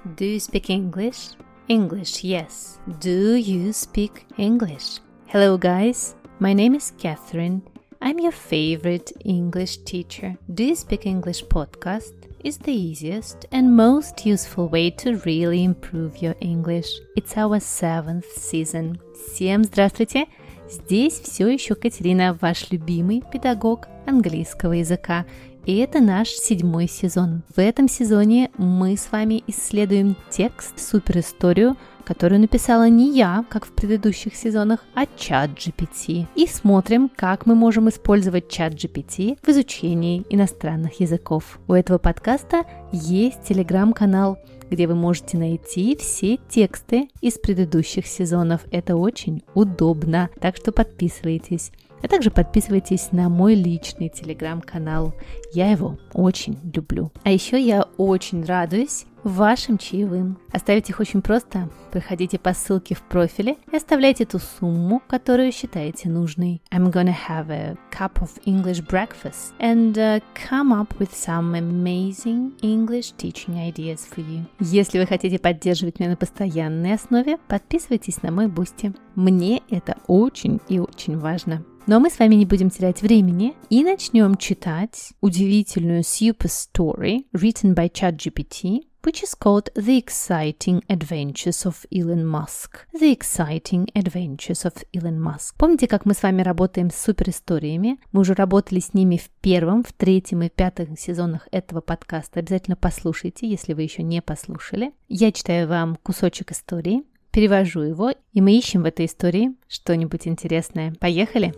Do you speak English? English, yes. Do you speak English? Hello guys, my name is Catherine. I'm your favorite English teacher. Do you speak English podcast is the easiest and most useful way to really improve your English. It's our 7th season. Всем здравствуйте! Здесь все еще Катерина, ваш любимый педагог английского языка. И это наш 7-й сезон. В этом сезоне мы с вами исследуем текст, суперисторию, которую написала не я, как в предыдущих сезонах, а ChatGPT. И смотрим, как мы можем использовать ChatGPT в изучении иностранных языков. У этого подкаста есть телеграм-канал, где вы можете найти все тексты из предыдущих сезонов. Это очень удобно, так что подписывайтесь. А также подписывайтесь на мой личный телеграм-канал. Я его очень люблю. А еще я очень радуюсь вашим чаевым. Оставить их очень просто. Проходите по ссылке в профиле и оставляйте ту сумму, которую считаете нужной. I'm gonna have a cup of English breakfast and come up with some amazing English teaching ideas for you. Если вы хотите поддерживать меня на постоянной основе, подписывайтесь на мой Boosty. Мне это очень и очень важно. Но мы с вами не будем терять времени и начнем читать удивительную super story written by ChatGPT, which is called The Exciting Adventures of Elon Musk. The Exciting Adventures of Elon Musk. Помните, как мы с вами работаем с суперисториями? Мы уже работали с ними в 1, в 3 и 5 сезонах этого подкаста. Обязательно послушайте, если вы еще не послушали. Я читаю вам кусочек истории, перевожу его, и мы ищем в этой истории что-нибудь интересное. Поехали!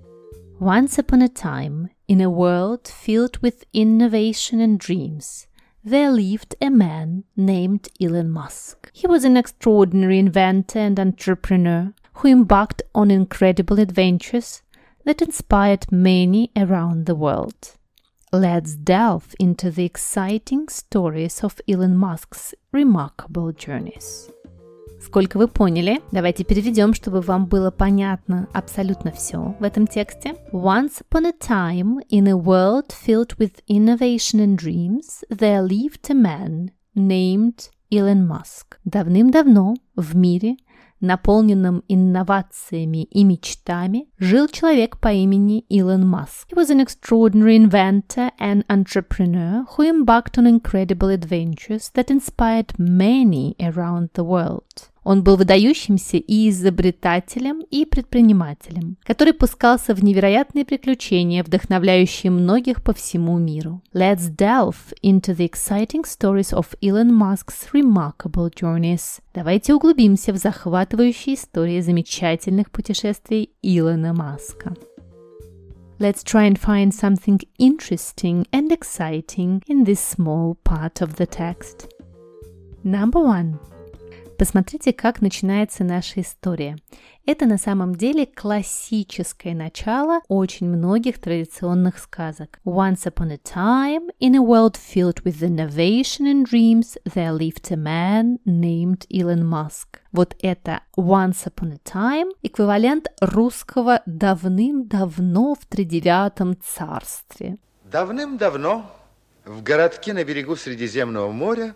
Once upon a time, in a world filled with innovation and dreams, there lived a man named Elon Musk. He was an extraordinary inventor and entrepreneur who embarked on incredible adventures that inspired many around the world. Let's delve into the exciting stories of Elon Musk's remarkable journeys. Сколько вы поняли? Давайте переведем, чтобы вам было понятно абсолютно все в этом тексте. Once upon a time, in a world filled with innovation and dreams, there lived a man named Elon Musk. Давным-давно в мире, наполненном инновациями и мечтами, жил человек по имени Илон Маск. He was an extraordinary inventor and entrepreneur who embarked on incredible adventures that inspired many around the world. Он был выдающимся и изобретателем, и предпринимателем, который пускался в невероятные приключения, вдохновляющие многих по всему миру. Let's delve into the exciting stories of Elon Musk's remarkable journeys. Давайте углубимся в захватывающие истории замечательных путешествий Илона Маска. Let's try and find something interesting and exciting in this small part of the text. Number 1. Посмотрите, как начинается наша история. Это на самом деле классическое начало очень многих традиционных сказок. Once upon a time, in a world filled with innovation and dreams, there lived a man named Elon Musk. Вот это once upon a time эквивалент русского давным-давно в тридевятом царстве. Давным-давно в городке на берегу Средиземного моря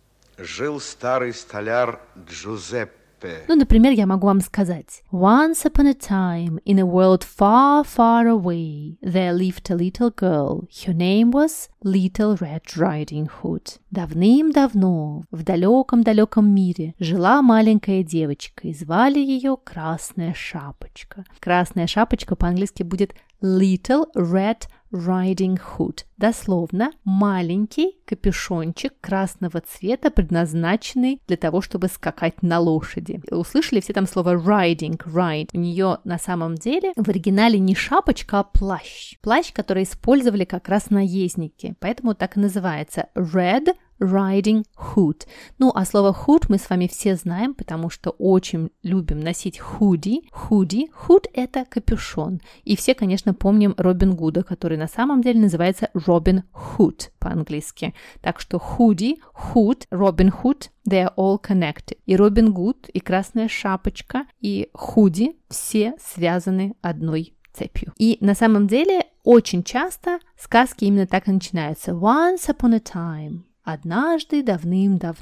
жил старый столяр Джузеппе. Ну, например, я могу вам сказать: Once upon a time, in a world far, far away, there lived a little girl. Her name was Little Red Riding Hood. Давным-давно в далеком-далеком мире жила маленькая девочка, и звали ее Красная Шапочка. Красная Шапочка по-английски будет Little Red Riding Hood. Дословно, маленький капюшончик красного цвета, предназначенный для того, чтобы скакать на лошади. Услышали все там слово riding, ride. У нее на самом деле в оригинале не шапочка, а плащ. Плащ, который использовали как раз наездники. Поэтому так и называется Red Riding Hood. Ну, а слово hood мы с вами все знаем, потому что очень любим носить худи. Hood – это капюшон. И все, конечно, помним Робин Гуда, который на самом деле называется Робин Худ по-английски. Так что худи, hood, Робин Худ – they are all connected. И Робин Гуд, и Красная Шапочка, и худи все связаны одной цепью. И на самом деле очень часто сказки именно так и начинаются. Once upon a time. Однажды давным-давно.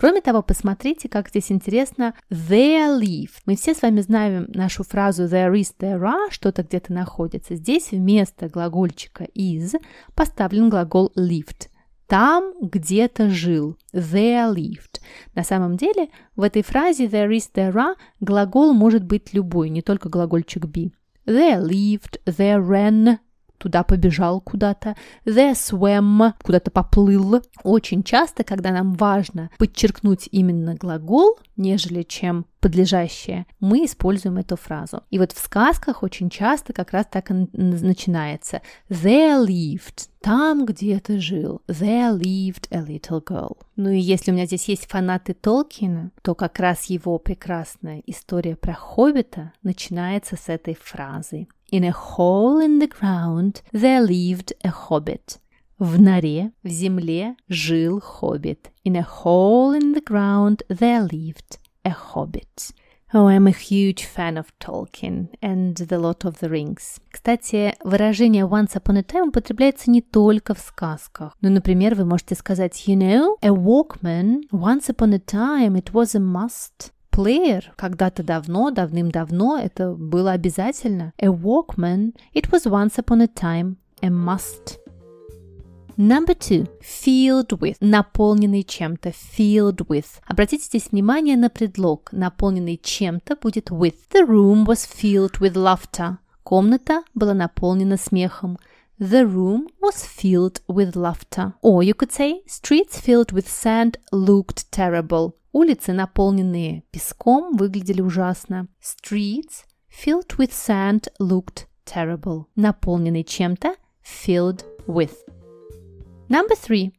Кроме того, посмотрите, как здесь интересно there lived. Мы все с вами знаем нашу фразу there is, there are, что-то где-то находится. Здесь вместо глагольчика is поставлен глагол lived. Там где-то жил. There lived. На самом деле, в этой фразе there is, there are глагол может быть любой, не только глагольчик be. There lived, there ran, туда побежал куда-то. There swam, куда-то поплыл. Очень часто, когда нам важно подчеркнуть именно глагол, нежели чем подлежащее, мы используем эту фразу. И вот в сказках очень часто как раз так и начинается. There lived, там где-то жил. There lived a little girl. Ну и если у меня здесь есть фанаты Толкина, то как раз его прекрасная история про Хоббита начинается с этой фразы. In a hole in the ground there lived a hobbit. В норе, в земле жил хоббит. In a hole in the ground there lived a hobbit. Oh, I'm a huge fan of Tolkien and The Lord of the Rings. Кстати, выражение once upon a time употребляется не только в сказках. Ну, например, вы можете сказать, you know, a Walkman, once upon a time it was a must. Плеер когда-то давно, давным-давно это было обязательно. A Walkman, it was once upon a time a must. Number 2. Filled with. Наполненный чем-то. Filled with. Обратите здесь внимание на предлог. Наполненный чем-то будет with. The room was filled with laughter. Комната была наполнена смехом. The room was filled with laughter. Or you could say, streets filled with sand looked terrible. Улицы, наполненные песком, выглядели ужасно. Streets filled with sand looked terrible. Наполненный чем-то. Filled with. Number 3.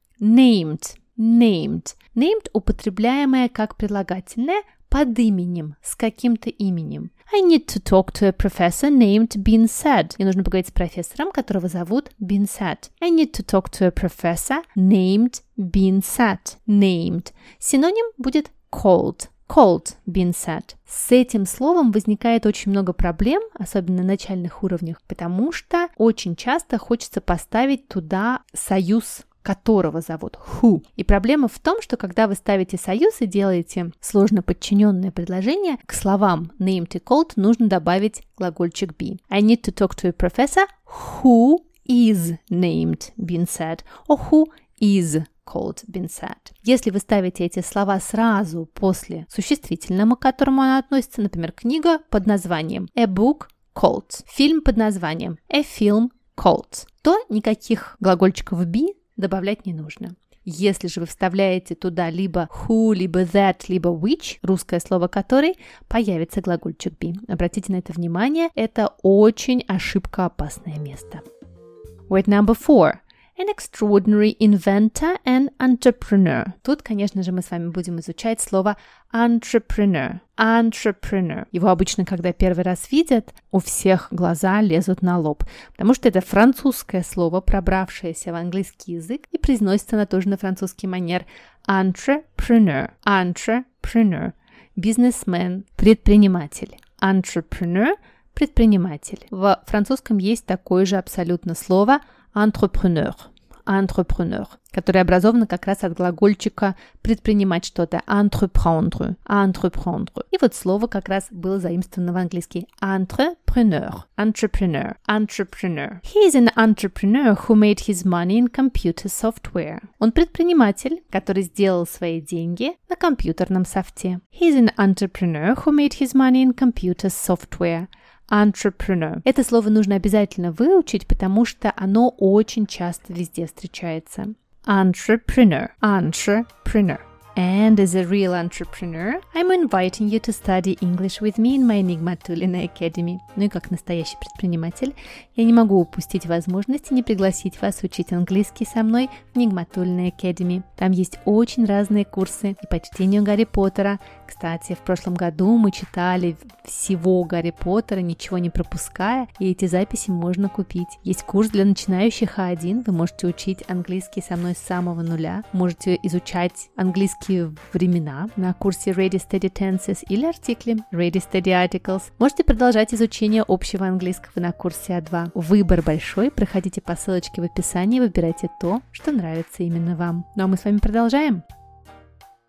Named. Named. Named употребляемое как прилагательное под именем, с каким-то именем. I need to talk to a professor named Bean Said. Мне нужно поговорить с профессором, которого зовут Bean Said. I need to talk to a professor named Bean Said. Named. Синоним будет called. Called, Bean Said. С этим словом возникает очень много проблем, особенно на начальных уровнях, потому что очень часто хочется поставить туда союз, которого зовут who. И проблема в том, что когда вы ставите союз и делаете сложно подчиненное предложение, к словам named и called нужно добавить глагольчик be. I need to talk to a professor who is named, Bean Said, or who is called, Bean Said. Если вы ставите эти слова сразу после существительного, к которому она относится, например, книга под названием a book called, фильм под названием a film called, то никаких глагольчиков be добавлять не нужно. Если же вы вставляете туда либо who, либо that, либо which, русское слово который, появится глагольчик be. Обратите на это внимание, это очень ошибкоопасное место. Word number 4. An extraordinary inventor and entrepreneur. Тут, конечно же, мы с вами будем изучать слово entrepreneur. Entrepreneur. Его обычно, когда первый раз видят, у всех глаза лезут на лоб, потому что это французское слово, пробравшееся в английский язык, и произносится оно тоже на французский манер. Entrepreneur. Entrepreneur. Бизнесмен, предприниматель. Entrepreneur – предприниматель. В французском есть такое же абсолютно слово entrepreneur, entrepreneur, которое образовано как раз от глагольчика предпринимать что-то, entreprendre, entreprendre. И вот слово как раз было заимствовано в английский entrepreneur, entrepreneur, entrepreneur. He is an entrepreneur who made his money in computer software. Он предприниматель, который сделал свои деньги на компьютерном софте. He is an entrepreneur who made his money in computer software. Entrepreneur. Это слово нужно обязательно выучить, потому что оно очень часто везде встречается. Entrepreneur. Entrepreneur. And as a real entrepreneur, I'm inviting you to study English with me in my Nigmatulina Academy. Ну и как настоящий предприниматель, я не могу упустить возможности не пригласить вас учить английский со мной в Nigmatulina Academy. Там есть очень разные курсы и по чтению Гарри Поттера. Кстати, в прошлом году мы читали всего Гарри Поттера, ничего не пропуская, и эти записи можно купить. Есть курс для начинающих А1, вы можете учить английский со мной с самого нуля, можете изучать английский времена на курсе Ready Steady Tenses или артикли Ready Steady Articles. Можете продолжать изучение общего английского на курсе А2. Выбор большой, проходите по ссылочке в описании, выбирайте то, что нравится именно вам. Ну а мы с вами продолжаем.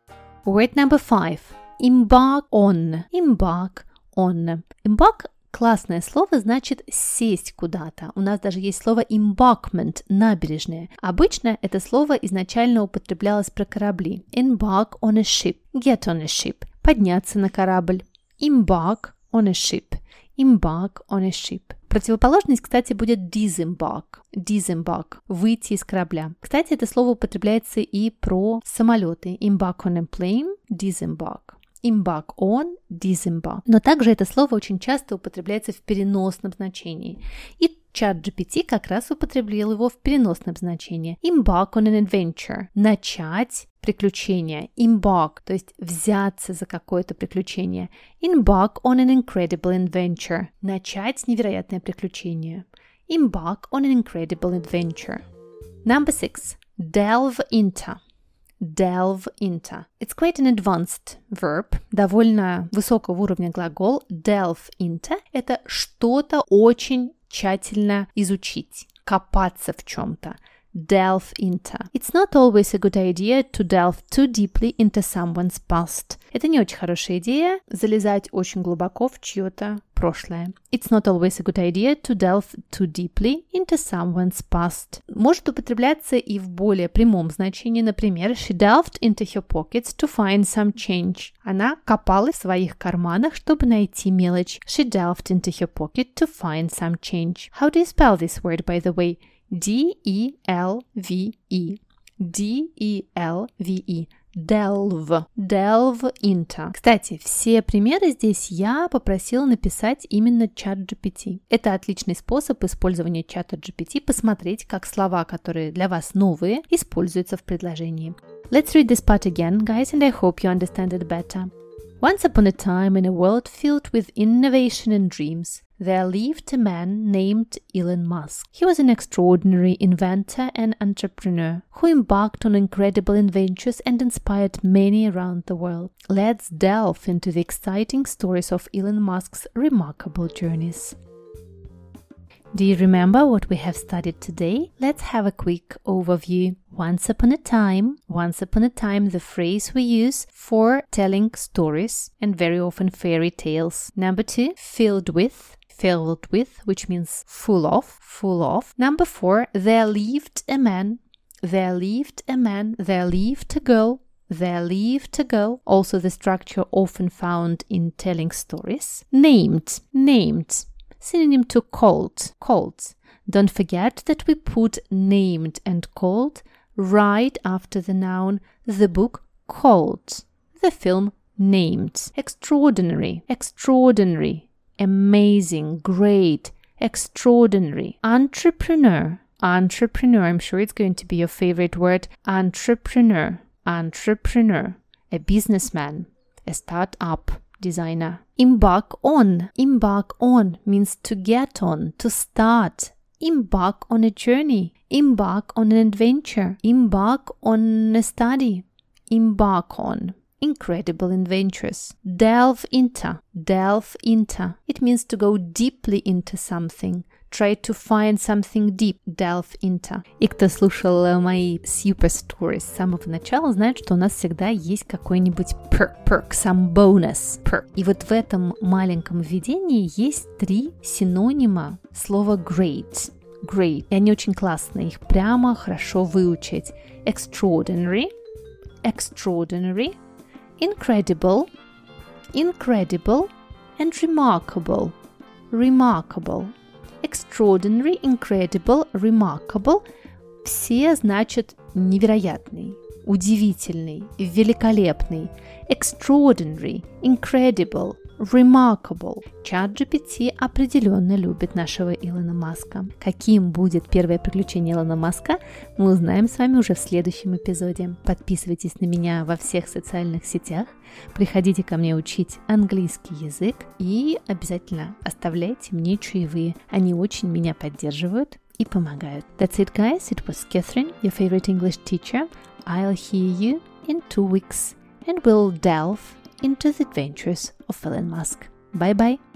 Word number 5. Embark on. Embark on. Embark – классное слово, значит сесть куда-то. У нас даже есть слово embarkment – набережная. Обычно это слово изначально употреблялось про корабли. Embark on a ship. Get on a ship. Подняться на корабль. Embark on a ship. Embark on a ship. Противоположность, кстати, будет disembark. Disembark – выйти из корабля. Кстати, это слово употребляется и про самолеты. Embark on a plane – disembark. Embark on, disembark. Но также это слово очень часто употребляется в переносном значении. И ChatGPT как раз употреблял его в переносном значении. Embark on an adventure. Начать приключение. Embark, то есть взяться за какое-то приключение. Embark on an incredible adventure. Начать невероятное приключение. Embark on an incredible adventure. Number 6. Delve into. Delve into. It's quite an advanced verb, довольно высокого уровня глагол. Delve into – это что-то очень тщательно изучить, копаться в чем-то. Delve into. It's not always a good idea to delve too deeply into someone's past. Это не очень хорошая идея залезать очень глубоко в чье-то прошлое. It's not always a good idea to delve too deeply into someone's past. Может употребляться и в более прямом значении. Например, she delved into her pockets to find some change. Она копалась в своих карманах, чтобы найти мелочь. She delved into her pocket to find some change. How do you spell this word, by the way? D-E-L-V-E. D-E-L-V-E. Delve. Delve into. Кстати, все примеры здесь я попросила написать именно ChatGPT. Это отличный способ использования чата GPT, посмотреть, как слова, которые для вас новые, используются в предложении. Let's read this part again, guys, and I hope you understand it better. Once upon a time, in a world filled with innovation and dreams, there lived a man named Elon Musk. He was an extraordinary inventor and entrepreneur who embarked on incredible adventures and inspired many around the world. Let's delve into the exciting stories of Elon Musk's remarkable journeys. Do you remember what we have studied today? Let's have a quick overview. Once upon a time, the phrase we use for telling stories and very often fairy tales. Number 2, filled with, which means full of. Number 4, there lived a man, there lived a girl. Also the structure often found in telling stories. Named. Synonym to called. Don't forget that we put named and called right after the noun, the book called, the film named. Extraordinary, amazing, great, extraordinary. Entrepreneur, I'm sure it's going to be your favorite word. Entrepreneur, a businessman, a startup designer. Embark on means to get on, to start. Embark on a journey, embark on an adventure, embark on a study, embark on incredible adventures. Delve into, it means to go deeply into something. Try to find something deep. Delve into. И кто слушал мои super stories с самого начала, знает, что у нас всегда есть какой-нибудь perk, some bonus. Perk. И вот в этом маленьком введении есть 3 синонима слова great. И они очень классные, их прямо хорошо выучить. Extraordinary, incredible, and remarkable. Extraordinary, incredible, remarkable – все значат невероятный, удивительный, великолепный. Extraordinary, incredible, remarkable. ChatGPT определенно любит нашего Илона Маска. Каким будет первое приключение Илона Маска, мы узнаем с вами уже в следующем эпизоде. Подписывайтесь на меня во всех социальных сетях, приходите ко мне учить английский язык и обязательно оставляйте мне чаевые. Они очень меня поддерживают и помогают. That's it, guys. It was Catherine, your favorite English teacher. I'll hear you in 2 weeks and we'll delve into the adventures of Elon Musk. Bye-bye.